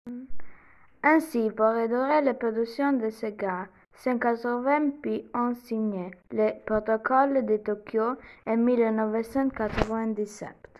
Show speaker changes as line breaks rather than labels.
Ainsi, pour réduire la production de ces gaz, 180 pays ont signé le protocole de Tokyo en 1997.